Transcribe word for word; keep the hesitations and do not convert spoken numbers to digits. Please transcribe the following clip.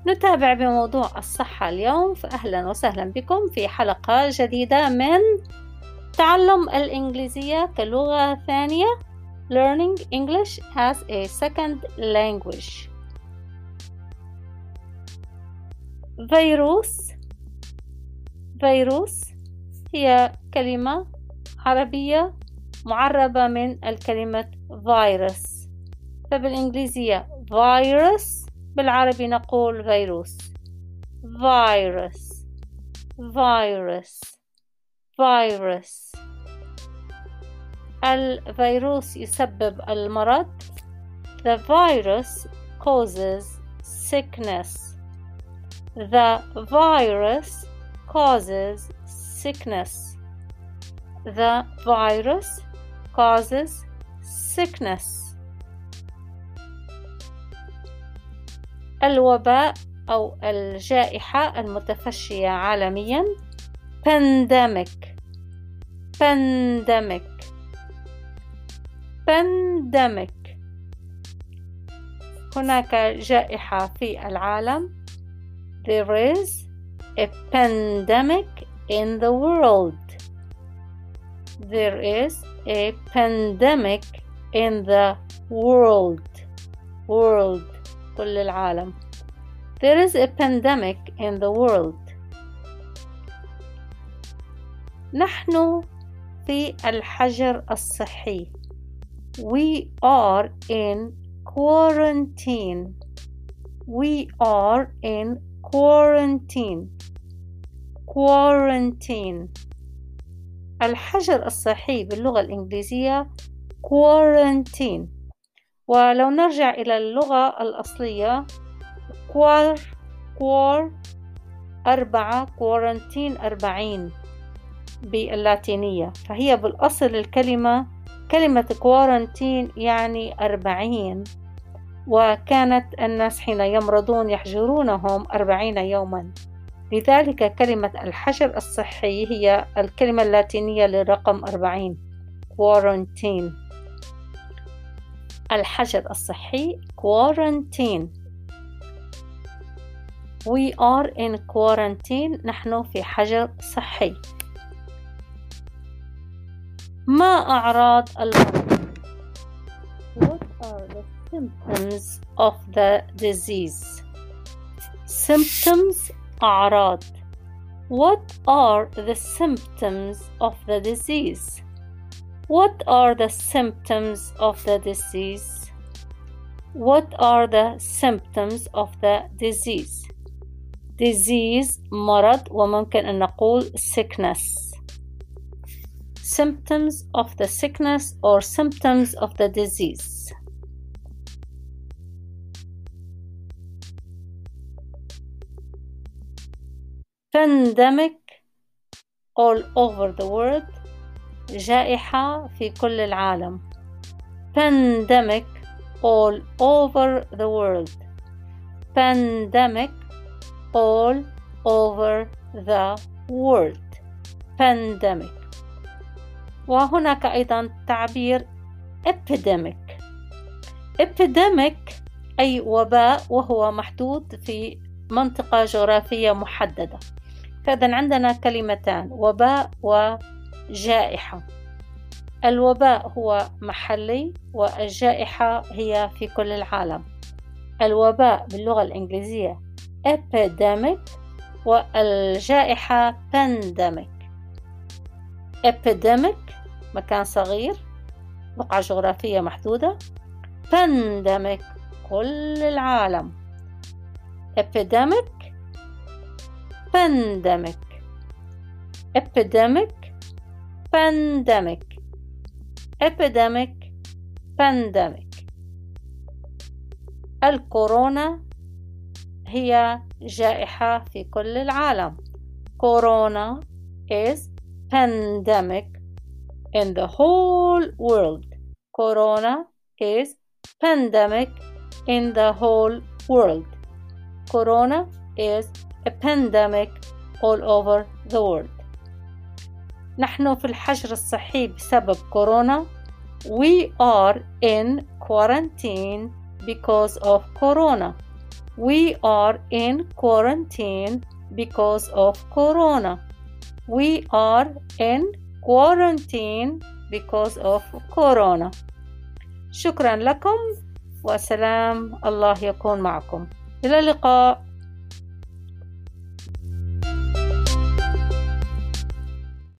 نتابع بموضوع الصحة اليوم، فأهلا وسهلا بكم في حلقة جديدة من تعلم الإنجليزية كلغة ثانية Learning English as a Second Language. فيروس فيروس هي كلمة عربية معربة من الكلمة فيروس، فبالإنجليزية فيروس، بالعربي نقول فيروس. فيروس فيروس فيروس. الفيروس يسبب المرض. The virus causes sickness. The virus causes sickness. The virus causes sickness. الوباء أو الجائحة المتفشية عالميا pandemic pandemic pandemic. هناك جائحة في العالم. There is a pandemic in the world. There is a pandemic in the world. World كل العالم. There is a pandemic in the world. نحن في الحجر الصحي. We are in quarantine. We are in quarantine. Quarantine. الحجر الصحي باللغة الإنجليزية quarantine. ولو نرجع إلى اللغة الأصلية كوار كوار أربعة كورنتين أربعين باللاتينية، فهي بالأصل الكلمة كلمة كورنتين يعني أربعين، وكانت الناس حين يمرضون يحجرونهم أربعين يوما، لذلك كلمة الحجر الصحي هي الكلمة اللاتينية للرقم أربعين كورنتين. الحجر الصحي quarantine. We are in quarantine. نحن في حجر صحي. ما أعراض المرض؟ What are the symptoms of the disease? Symptoms أعراض. What are the symptoms of the disease? What are the symptoms of the disease? What are the symptoms of the disease? Disease مرض، وممكن أن نقول sickness. Symptoms of the sickness or symptoms of the disease. Pandemic all over the world. جائحة في كل العالم. Pandemic all over the world. Pandemic all over the world. Pandemic. وهناك أيضا تعبير epidemic. Epidemic أي وباء، وهو محدود في منطقة جغرافية محددة. فإذا عندنا كلمتان وباء وجائحة. الوباء هو محلي والجائحة هي في كل العالم. الوباء باللغة الإنجليزية epidemic والجائحة pandemic. epidemic مكان صغير، بقعة جغرافية محدودة. pandemic كل العالم. epidemic pandemic epidemic pandemic epidemic pandemic. الكورونا هي جائحة في كل العالم. Corona is pandemic in the whole world. Corona is pandemic in the whole world. Corona is a pandemic all over the world. نحن في الحجر الصحي بسبب كورونا. We are in quarantine because of corona. We are in quarantine because of corona. We are in quarantine because of corona. شكرا لكم وسلام الله يكون معكم. إلى اللقاء.